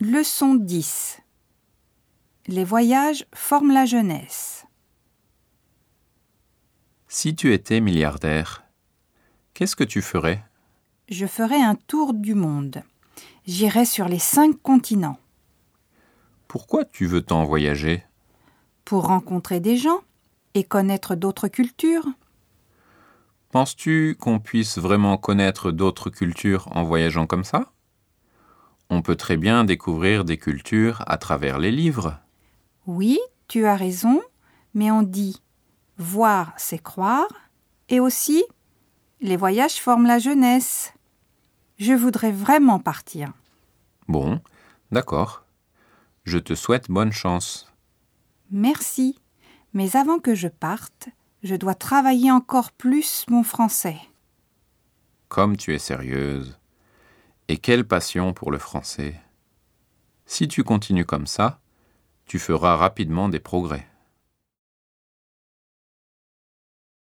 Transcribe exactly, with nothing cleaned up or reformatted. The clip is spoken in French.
Leçon dix. Les voyages forment la jeunesse. Si tu étais milliardaire, qu'est-ce que tu ferais ? Je ferai un tour du monde. J'irai sur les cinq continents. Pourquoi tu veux tant voyager ? Pour rencontrer des gens et connaître d'autres cultures. Penses-tu qu'on puisse vraiment connaître d'autres cultures en voyageant comme ça ? On peut très bien découvrir des cultures à travers les livres. Oui, tu as raison, mais on dit « voir, c'est croire » et aussi « les voyages forment la jeunesse ». Je voudrais vraiment partir. Bon, d'accord. Je te souhaite bonne chance. Merci, mais avant que je parte, je dois travailler encore plus mon français. Comme tu es sérieuse. Et quelle passion pour le français. Si tu continues comme ça, tu feras rapidement des progrès.